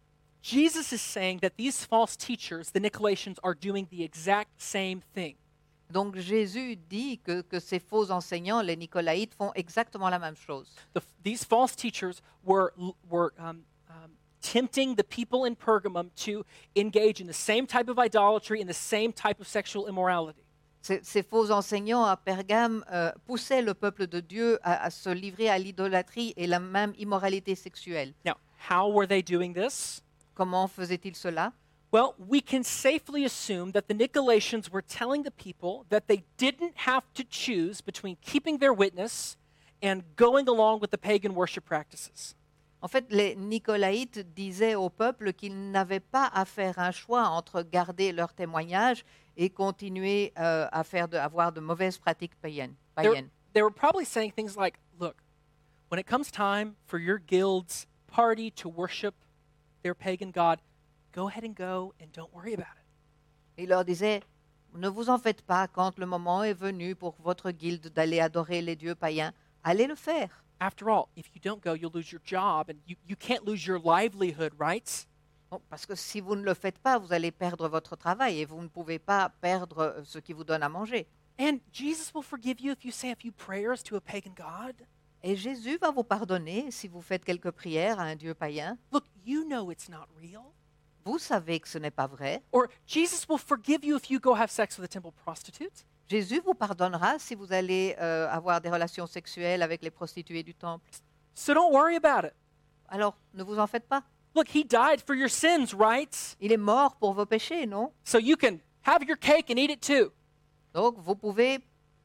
Jesus is saying that these false teachers, the Nicolaitans, are doing the exact same thing. Donc Jésus dit que, que ces faux enseignants, les Nicolaïtes, font exactement la même chose. The, these false teachers were, were um, um, tempting the people in Pergamum to engage in the same type of idolatry and the same type of sexual immorality. Ces, ces faux enseignants à Pergame euh, poussaient le peuple de Dieu à, à se livrer à l'idolâtrie et la même immoralité sexuelle. Now, how were they doing this? Comment faisaient-ils cela? Well, we can safely assume that the Nicolaitans were telling the people that they didn't have to choose between keeping their witness and going along with the pagan worship practices. En fait, les Nicolaïtes disaient au peuple qu'ils n'avaient pas à faire un choix entre garder leur témoignage et continuer euh, à faire de, avoir de mauvaises pratiques païennes. They were, païennes. they were probably saying things like, look, when it comes time for your guild's party to worship their pagan god, go ahead and go and don't worry about it. Il leur disait, ne vous en faites pas quand le moment est venu pour votre guilde d'aller adorer les dieux païens, allez le faire. After all, if you don't go, you'll lose your job and you, you can't lose your livelihood, right? Bon, parce que si vous ne le faites pas, vous allez perdre votre travail et vous ne pouvez pas perdre euh, ce qui vous donne à manger. And Jesus will forgive you if you say a few prayers to a pagan god. Et Jésus va vous pardonner si vous faites quelques prières à un dieu païen. Look, you know it's not real. Vous savez que ce n'est pas vrai. Or Jesus will forgive you if you go have sex with a temple prostitute. Jésus vous pardonnera si vous allez euh, avoir des relations sexuelles avec les prostituées du temple. So don't worry about it. Alors, ne vous en faites pas. Look, he died for your sins, right? Il est mort pour vos péchés, non? So you can have your cake and eat it too. Donc, vous pouvez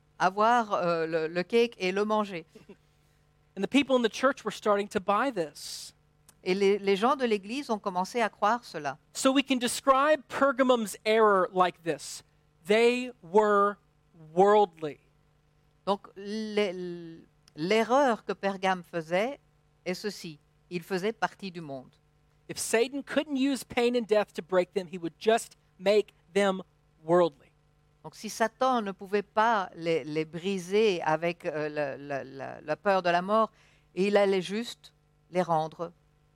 avoir euh, le, le cake et le manger. And the people in the church were starting to buy this. Et les, les gens de l'Église ont commencé à croire cela. So we can describe Pergamum's error like this. They were worldly. Donc, les- l'erreur que Pergame faisait est ceci. Il faisait partie du monde. If Satan couldn't use pain and death to break them, he would just make them worldly. Donc, si Satan ne pouvait pas les, les briser avec euh, la, la- la- la peur de la mort, il allait juste les rendre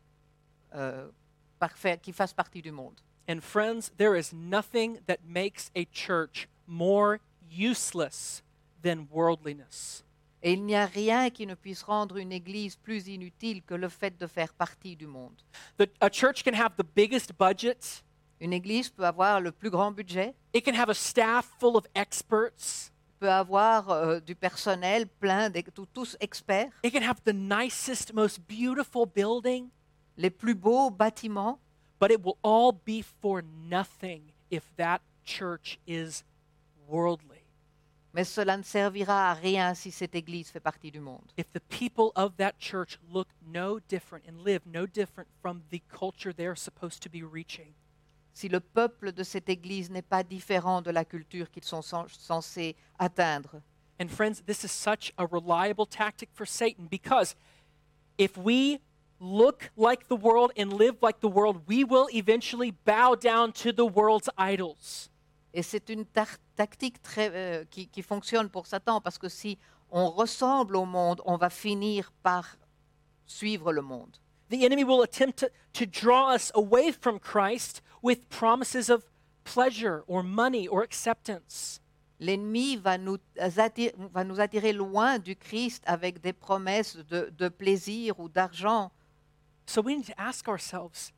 euh, parfaits, qui fassent partie du monde. And friends, there is nothing that makes a church more useless than worldliness. Et il n'y a rien qui ne puisse rendre une église plus inutile que le fait de faire partie du monde. The, a church can have the biggest budget. Une église peut avoir le plus grand budget, It can have a staff full of experts. peut avoir euh, du personnel plein, de, tous experts. It can have the nicest, most beautiful building. les plus beaux bâtiments, but it will all be for nothing if that church is worldly. mais cela ne servira à rien si cette Église fait partie du monde. If the people of that church look no different and live no different from the culture they're supposed to be reaching. Si le peuple de cette Église n'est pas différent de la culture qu'ils sont cen- censés atteindre. And friends, this is such a reliable tactic for Satan because if we look like the world and live like the world, we will eventually bow down to the world's idols. Et c'est une tar- tactique très, euh, qui, qui fonctionne pour Satan, parce que si on ressemble au monde, on va finir par suivre le monde. The enemy will attempt to, to draw us away from Christ with promises of pleasure or money or acceptance. L'ennemi va nous, attirer, va nous attirer loin du Christ avec des promesses de, de plaisir ou d'argent. So we need to ask ourselves,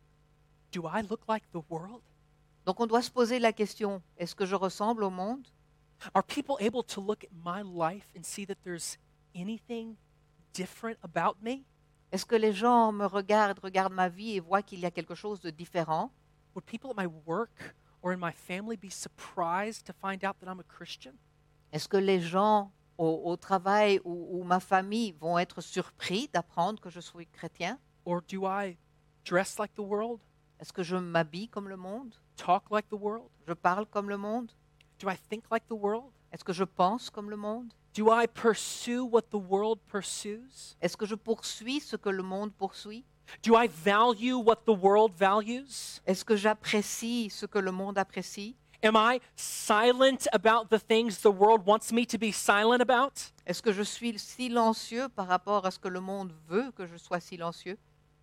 do I look like the world? Donc on doit se poser la question, est-ce que je ressemble au monde? Are people able to look at my life and see that there's anything different about me? Est-ce que les gens me regardent, regardent ma vie et voient qu'il y a quelque chose de différent? Would people at my work or in my family be surprised to find out that I'm a Christian? Est-ce que les gens au, au travail ou, ou ma famille vont être surpris d'apprendre que je suis chrétien? Or do I dress like the world, Est-ce que je m'habille comme le monde? talk like the world? Je parle comme le monde? Do I think like the world? Est-ce que je pense comme le monde? Do I pursue what the world pursues? Est-ce que je poursuis ce que le monde poursuit? Do I value what the world values? Est-ce que j'apprécie ce que le monde apprécie? Am I silent about the things the world wants me to be silent about? Est-ce que je suis silencieux par rapport à ce que le monde veut que je sois silencieux?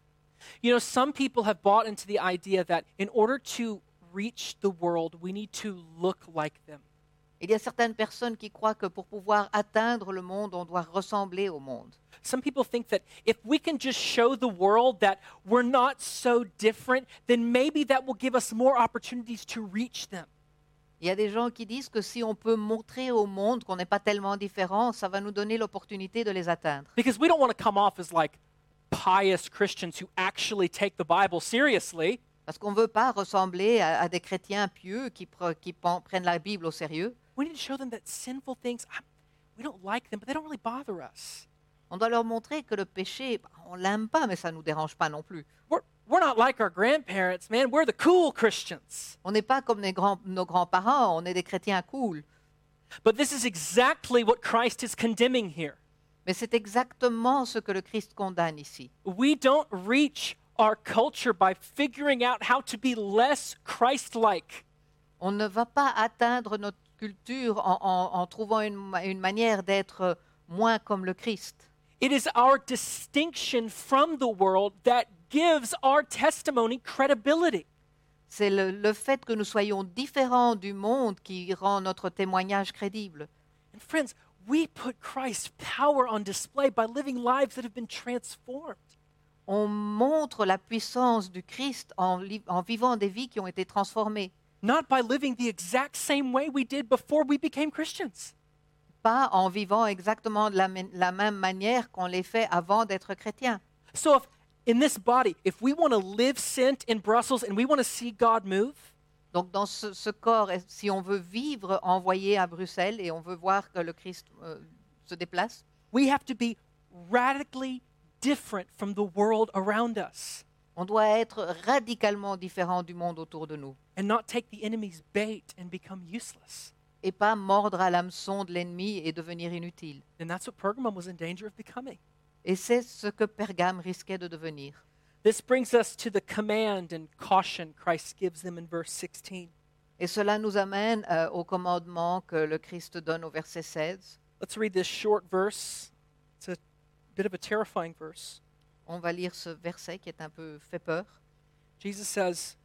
You know, some people have bought into the idea that in order to reach the world, we need to look like them. Il y a certaines personnes qui croient que pour pouvoir atteindre le monde, on doit ressembler au monde. Some people think that if we can just show the world that we're not so different, then maybe that will give us more opportunities to reach them. Il y a des gens qui disent que si on peut montrer au monde qu'on n'est pas tellement différent, ça va nous donner l'opportunité de les atteindre. Because we don't want to come off as like pious Christians who actually take the Bible seriously. Parce qu'on ne veut pas ressembler à, à des chrétiens pieux qui, pre- qui pen- prennent la Bible au sérieux. We need to show them that sinful things, I- we don't like them, but they don't really bother us. On doit leur montrer que le péché, bah, on l'aime pas, mais ça ne nous dérange pas non plus. We're, we're not like our grandparents, man. We're the cool Christians. On n'est pas comme les grands- nos grands-parents, on est des chrétiens cool. But this is exactly what Christ is condemning here. Mais c'est exactement ce que le Christ condamne ici. We don't reach our culture by figuring out how to be less Christ-like. On ne va pas atteindre notre culture en, en- en trouvant une, ma- une manière d'être moins comme le Christ. It is our distinction from the world that gives our testimony credibility. C'est le, le fait que nous soyons différents du monde qui rend notre témoignage crédible. And friends, we put Christ's power on display by living lives that have been transformed. On montre la puissance du Christ en, li- en vivant des vies qui ont été transformées, Not by living the exact same way we did before we became Christians. pas en vivant exactement de la, mê- la même manière qu'on les fait avant d'être chrétiens. So if in this body, if we want to live sent in Brussels and we want to see God move, Donc dans ce, ce corps, est- si on veut vivre envoyé à Bruxelles et on veut voir que le Christ euh, se déplace, we have to be radically different from the world around us on doit être radicalement différent du monde autour de nous and not take the enemy's bait and become useless. et pas mordre à l'hameçon de l'ennemi et devenir inutile. And that's what Pergamum was in danger of becoming. Et c'est ce que Pergame risquait de devenir. This brings us to the command and caution Christ gives them in verse sixteen. Et cela nous amène euh, au commandement que le Christ donne au verset seize. Let's read this short verse. It's a bit of a terrifying verse. On va lire ce verset qui est un peu fait peur. Jesus says,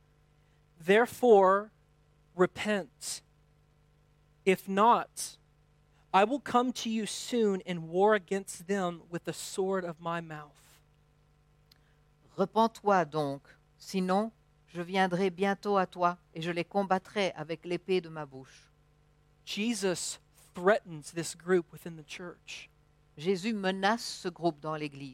"Therefore, repent. If not, I will come to you soon and war against them with the sword of my mouth." Repens-toi donc, sinon je viendrai bientôt à toi et je les combattrai avec l'épée de ma bouche. Jesus threatens this group within the church. Jésus menace ce groupe dans l'Église.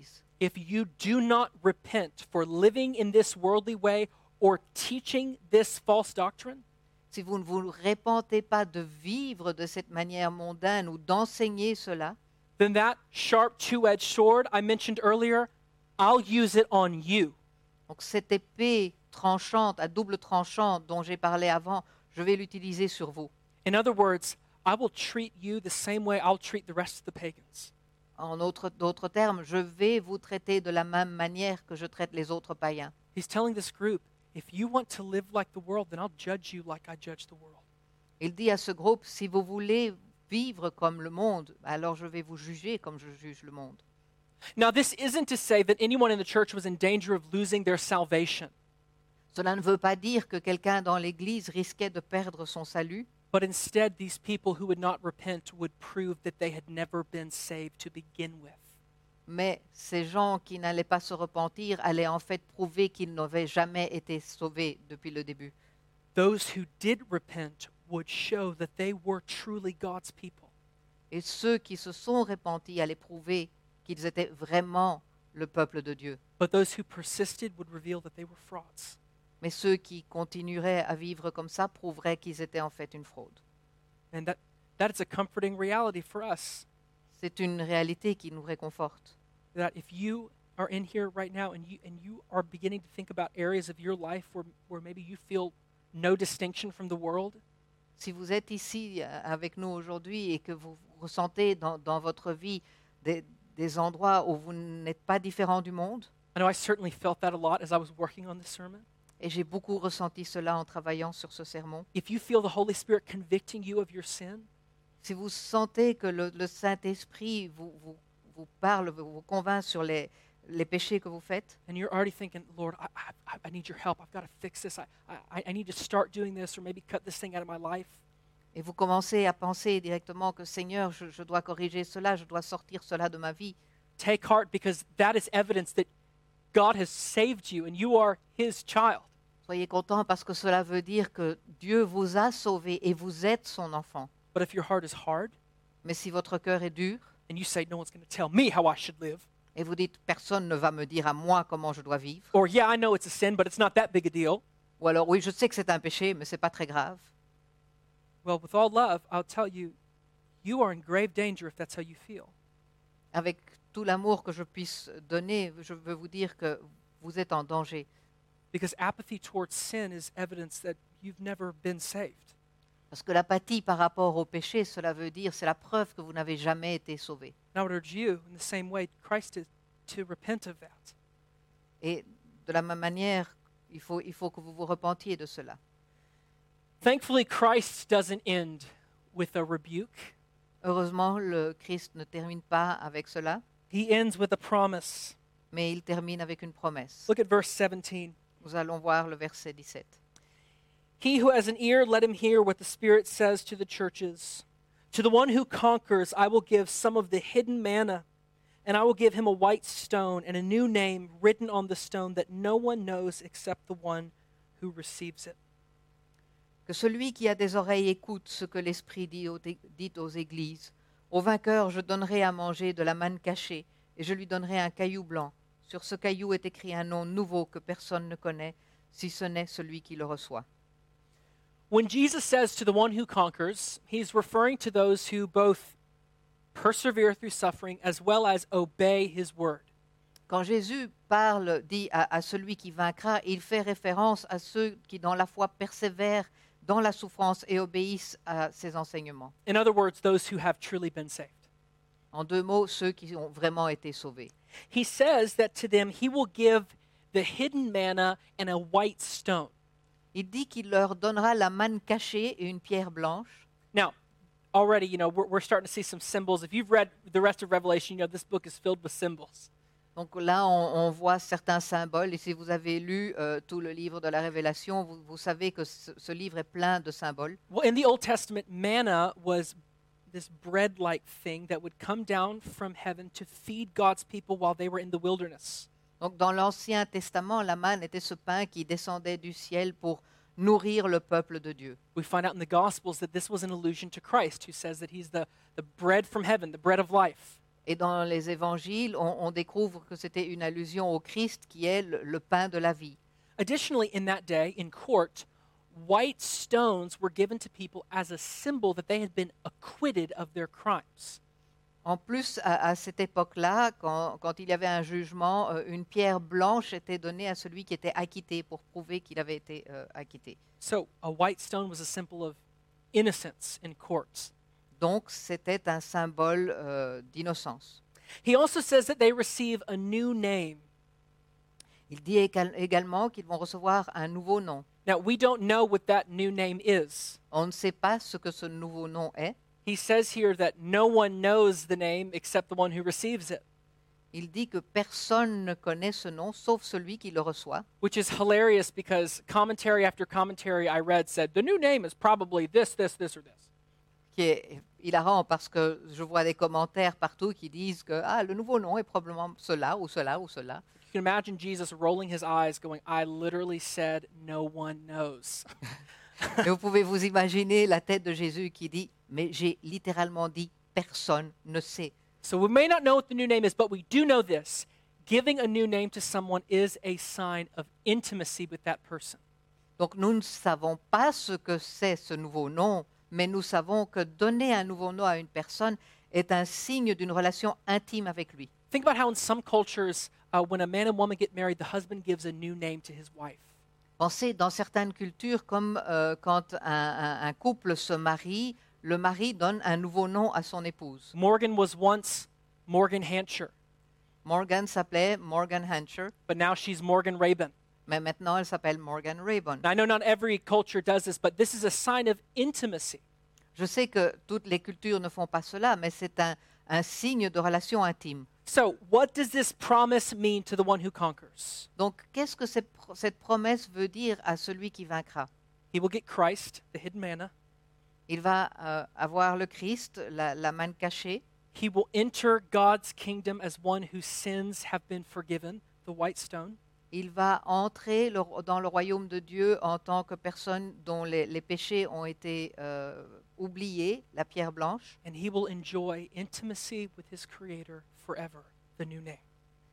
if you do not repent for living in this worldly way or teaching this false doctrine, Si vous ne vous répentez pas de vivre de cette manière mondaine ou d'enseigner cela, then that sharp two-edged sword I mentioned earlier, I'll use it on you. donc cette épée tranchante, à double tranchant dont j'ai parlé avant, je vais l'utiliser sur vous. In other words, I will treat you the same way I'll treat the rest of the pagans. En autre- d'autres termes, je vais vous traiter de la même manière que je traite les autres païens. He's telling this group, if you want to live like the world, then I'll judge you like I judge the world. Il dit à ce groupe, si vous voulez vivre comme le monde, alors je vais vous juger comme je juge le monde. Now, this isn't to say that anyone in the church was in danger of losing their salvation, Cela ne veut pas dire que quelqu'un dans l'Église risquait de perdre son salut, but instead, these people who would not repent would prove that they had never been saved to begin with. mais ces gens qui n'allaient pas se repentir allaient en fait prouver qu'ils n'avaient jamais été sauvés depuis le début. Those who did repent would show that they were truly God's people. Et ceux qui se sont repentis allaient prouver qu'ils étaient vraiment le peuple de Dieu. But those who persisted would reveal that they were frauds. Mais ceux qui continueraient à vivre comme ça prouveraient qu'ils étaient en fait une fraude. And that, that is a comforting reality for us. C'est une réalité qui nous réconforte. That if you are in here right now and you, and you are beginning to think about areas of your life where, where maybe you feel no distinction from the world, Si vous êtes ici euh, avec nous aujourd'hui et que vous ressentez dans, dans votre vie des, des endroits où vous n'êtes pas différent du monde, I know I certainly felt that a lot as I was working on this sermon. et j'ai beaucoup ressenti cela en travaillant sur ce sermon, If you feel the Holy Spirit convicting you of your sin, si vous sentez que le, le Saint-Esprit vous, vous, vous parle, vous, vous convainc sur les, les péchés que vous faites, and you're already thinking, Lord, I, I, I need your help. I've got to fix this. I, I, I need to start doing this or maybe cut this thing out of my life. et vous commencez à penser directement que Seigneur, je, je dois corriger cela, je dois sortir cela de ma vie, Take heart because that is evidence that God has saved you and you are his child. soyez contents parce que cela veut dire que Dieu vous a sauvé et vous êtes son enfant. But if your heart is hard Mais si votre cœur est dur, and you say, no one's going to tell me how I should live, et vous dites personne ne va me dire à moi comment je dois vivre, or yeah, I know it's a sin, but it's not that big a deal. ou alors oui, je sais que c'est un péché, mais c'est pas très grave. Well, with all love, I'll tell you, you are in grave danger if that's how you feel. Avec tout l'amour que je puisse donner, je veux vous dire que vous êtes en danger. Because apathy towards sin is evidence that you've never been saved. Parce que l'apathie par rapport au péché, cela veut dire, c'est la preuve que vous n'avez jamais été sauvé. And I would urge you, in the same way, Christ is to repent of that. Et de la même manière, il faut, il faut que vous vous repentiez de cela. Thankfully, Christ doesn't end with a rebuke. Heureusement, le Christ ne termine pas avec cela, He ends with a promise. mais il termine avec une promesse. Look at verse seventeen. Nous allons voir le verset dix-sept. He who has an ear, let him hear what the Spirit says to the churches. To the one who conquers, I will give some of the hidden manna, and I will give him a white stone and a new name written on the stone that no one knows except the one who receives it. Que celui qui a des oreilles écoute ce que l'Esprit dit aux, dit aux églises. Au vainqueur, je donnerai à manger de la manne cachée, et je lui donnerai un caillou blanc. Sur ce caillou est écrit un nom nouveau que personne ne connaît, si ce n'est celui qui le reçoit. When Jesus says to the one who conquers, he's referring to those who both persevere through suffering as well as obey his word. Quand Jésus parle, dit à, à celui qui vaincra, il fait référence à ceux qui dans la foi persévèrent dans la souffrance et obéissent à ses enseignements. In other words, those who have truly been saved. En deux mots, ceux qui ont vraiment été sauvés. He says that to them he will give the hidden manna and a white stone. Il dit qu'il leur donnera la manne cachée et une pierre blanche. Now, already, you know, we're, we're starting to see some symbols. If you've read the rest of Revelation, you know, this book is filled with symbols. Donc là, on, on voit certains symboles. Et si vous avez lu euh, tout le livre de la Révélation, vous, vous savez que ce, ce livre est plein de symboles. Well, in the Old Testament, manna was this bread-like thing that would come down from heaven to feed God's people while they were in the wilderness. Donc dans l'Ancien Testament, la manne était ce pain qui descendait du ciel pour nourrir le peuple de Dieu. We find out in the Gospels that this was an allusion to Christ, who says that he's the, the bread from heaven, the bread of life. Et dans les évangiles, on, on découvre que c'était une allusion au Christ qui est le, le pain de la vie. Additionally, in that day, in court, white stones were given to people as a symbol that they had been acquitted of their crimes. En plus, à, à cette époque-là, quand, quand il y avait un jugement, euh, une pierre blanche était donnée à celui qui était acquitté pour prouver qu'il avait été euh, acquitté. So, a white stone was a symbol of innocence in courts. Donc, c'était un symbole euh, d'innocence. He also says that they receive a new name. Il dit égal- également qu'ils vont recevoir un nouveau nom. Now, we don't know what that new name is. On ne sait pas ce que ce nouveau nom est. He says here that no one knows the name except the one who receives it, Il dit que personne ne connaît ce nom sauf celui qui le reçoit. which is hilarious because commentary after commentary I read said the new name is probably this, this, this, or this. Qui est hilarant parce que je vois des commentaires partout qui disent que ah, le nouveau nom est probablement cela ou cela ou cela. You can imagine Jesus rolling his eyes going, I literally said no one knows. Et vous pouvez vous imaginer la tête de Jésus qui dit mais j'ai littéralement dit personne ne sait. So we may not know what the new name is, but we do know this. Giving a new name to someone is a sign of intimacy with that person. Donc nous ne savons pas ce que c'est ce nouveau nom, mais nous savons que donner un nouveau nom à une personne est un signe d'une relation intime avec lui. Think about how in some cultures, uh, when a man and woman get married, the husband gives a new name to his wife. Pensez dans certaines cultures comme euh, quand un, un- un couple se marie, le mari donne un nouveau nom à son épouse. Morgan was once Morgan Hansher, Morgan s'appelait Morgan Hancher, but now she's Morgan Rabin. mais maintenant elle s'appelle Morgan Raybon. Now, I know not every culture does this, but this is a sign of intimacy. Je sais que toutes les cultures ne font pas cela, mais c'est un, un signe de relation intime. So, what does this promise mean to the one who conquers? Donc, qu'est-ce que cette, pro- cette promesse veut dire à celui qui vaincra? He will get Christ, the hidden manna. Il va euh, avoir le Christ, la, la manne cachée. He will enter God's kingdom as one whose sins have been forgiven, the white stone. Il va entrer le- dans le royaume de Dieu en tant que personne dont les, les péchés ont été euh, oubliés, la pierre blanche. And he will enjoy intimacy with his creator forever, the new name.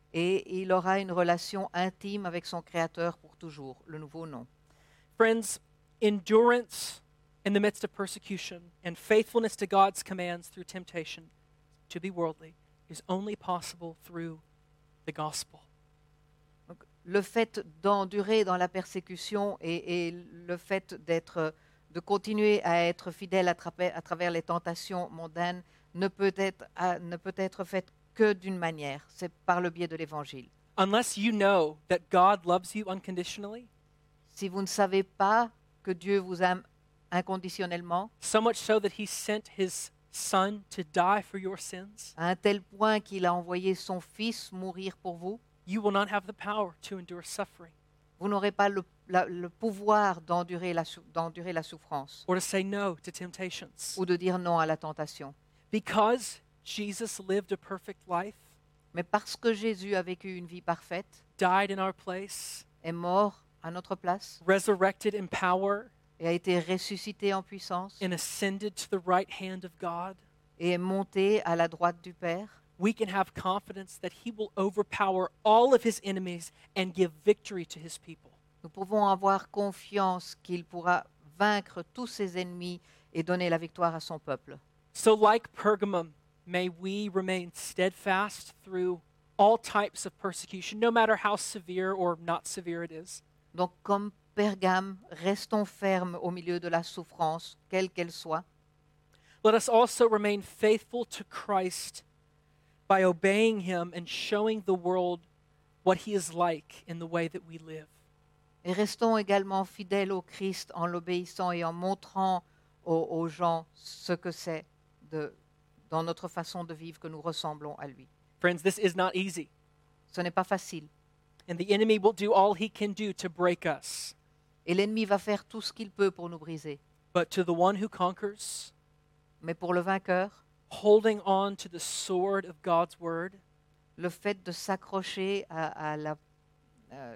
Et il aura une relation intime avec son Créateur pour toujours, le nouveau nom. Friends, endurance in the midst of persecution and faithfulness to God's commands through temptation to be worldly is only possible through the gospel. Donc, le fait d'endurer dans la persécution et, et le fait d'être, de continuer à être fidèle à, trape- à travers les tentations mondaines ne peut être, à- ne peut être fait que d'une manière, c'est par le biais de l'Évangile. Unless you know that God loves you unconditionally, Si vous ne savez pas que Dieu vous aime inconditionnellement, so much so that he sent his son to die for your sins, à un tel point qu'il a envoyé son Fils mourir pour vous, you will not have the power to endure suffering vous n'aurez pas le, la- le pouvoir d'endurer la, sou- d'endurer la souffrance or to say no to temptations. ou de dire non à la tentation. Because Jesus lived a perfect life, Mais parce que Jésus a vécu une vie parfaite, died in our place, est mort à notre place resurrected in power, et a été ressuscité en puissance and ascended to the right hand of God, et est monté à la droite du Père, we can have confidence that he will overpower all of his enemies and give victory to his people. nous pouvons avoir confiance qu'il pourra vaincre tous ses ennemis et donner la victoire à son peuple. So, like Pergamum, may we remain steadfast through all types of persecution, no matter how severe or not severe it is. Donc, comme Pergame, restons fermes au milieu de la souffrance, quelle qu'elle soit. Let us also remain faithful to Christ by obeying him and showing the world what he is like in the way that we live. Et restons également fidèles au Christ en l'obéissant et en montrant aux, aux gens ce que c'est de, dans notre façon de vivre que nous ressemblons à lui. Friends, this is not easy, Ce n'est pas facile. and the enemy will do all he can do to break us. Et l'ennemi va faire tout ce qu'il peut pour nous briser. But to the one who conquers, Mais pour le vainqueur, holding on to the sword of God's word, le fait de s'accrocher à, à la- euh,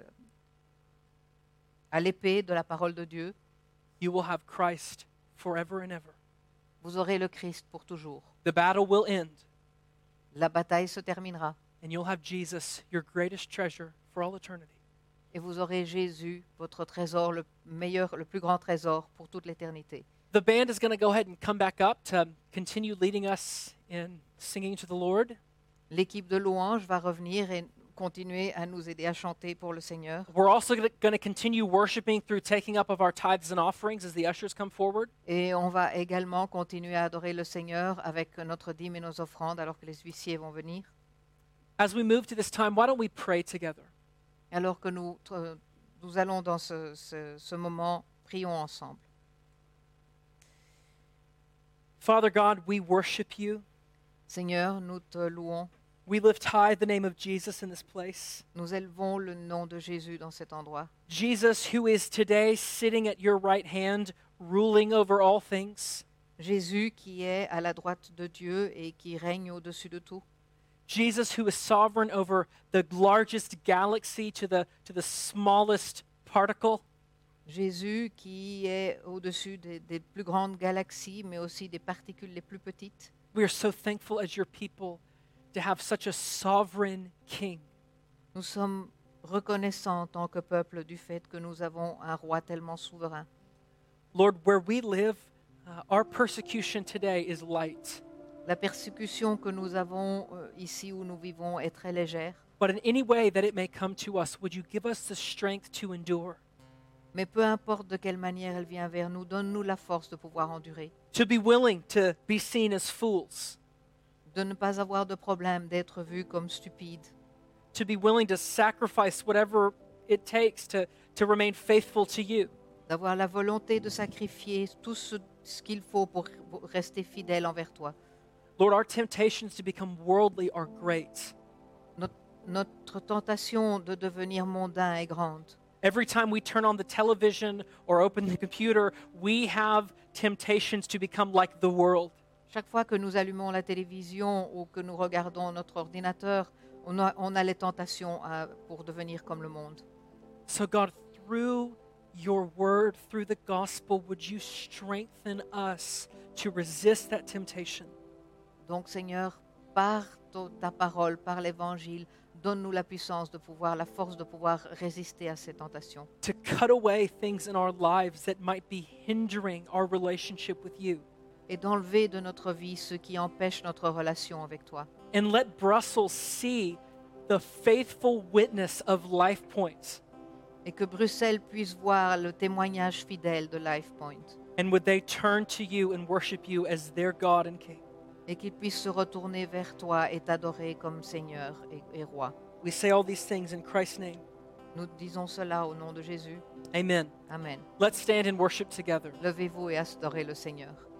à l'épée de la parole de Dieu, you will have Christ forever and ever. vous aurez le Christ pour toujours. The battle will end, la bataille se terminera and you'll have Jesus, your greatest treasure, for all eternity. et vous aurez Jésus, votre trésor, le meilleur, le plus grand trésor pour toute l'éternité. The band is going to go ahead and come back up to continue leading us in singing to the Lord. L'équipe de louanges va revenir et continuer à nous aider à chanter pour le Seigneur. We're also going to continue worshiping through taking up of our tithes and offerings as the ushers come forward. Et on va également continuer à adorer le Seigneur avec notre dîme et nos offrandes alors que les huissiers vont venir. As we move to this time, why don't we pray together? Alors que nous, euh, nous allons dans ce, ce, ce moment, prions ensemble. Father God, we worship you. Seigneur, nous te louons. We lift high the name of Jesus in this place. Nous élevons le nom de Jésus dans cet endroit. Jesus, who is today sitting at your right hand, ruling over all things. Jésus qui est à la droite de Dieu et qui règne au-dessus de tout. Jesus, who is sovereign over the largest galaxy to the, to the smallest particle. Jésus qui est au-dessus des, des plus grandes galaxies, mais aussi des particules les plus petites. We are so thankful as your people to have such a sovereign king. Nous sommes reconnaissants en tant que peuple du fait que nous avons un roi tellement souverain. Lord, where we live, uh, our persecution today is light. La persécution que nous avons euh, ici où nous vivons est très légère, But in any way that it may come to us, would you give us the strength to endure? mais peu importe de quelle manière elle vient vers nous, donne-nous la force de pouvoir endurer, To be willing to be seen as fools, de ne pas avoir de problème d'être vu comme stupide, to be willing to sacrifice whatever it takes to, to remain faithful to you. d'avoir la volonté de sacrifier tout ce, ce qu'il faut pour, pour rester fidèle envers toi. Lord, our temptations to become worldly are great. Notre, notre tentation de devenir mondain est grande. Every time we turn on the television or open the computer, we have temptations to become like the world. Chaque fois que nous allumons la télévision ou que nous regardons notre ordinateur, on a, on a les tentations à- pour devenir comme le monde. So, God, through your word, through the gospel, would you strengthen us to resist that temptation? Donc Seigneur, par to- ta parole, par l'évangile, donne-nous la puissance de pouvoir, la force de pouvoir résister à ces tentations, To cut away things in our lives that might be hindering our relationship with you. et d'enlever de notre vie ce qui empêche notre relation avec toi. And let Brussels see the faithful witness of Life Point. Et que Bruxelles puisse voir le témoignage fidèle de LifePoint. And would they turn to you and worship you as their God and King? Et qu'ils puissent se retourner vers toi et t'adorer comme Seigneur et, et Roi. We say all these things in Christ's name. Nous disons cela au nom de Jésus. Amen. Amen. Let's stand and worship together. Levez-vous et adorez le Seigneur.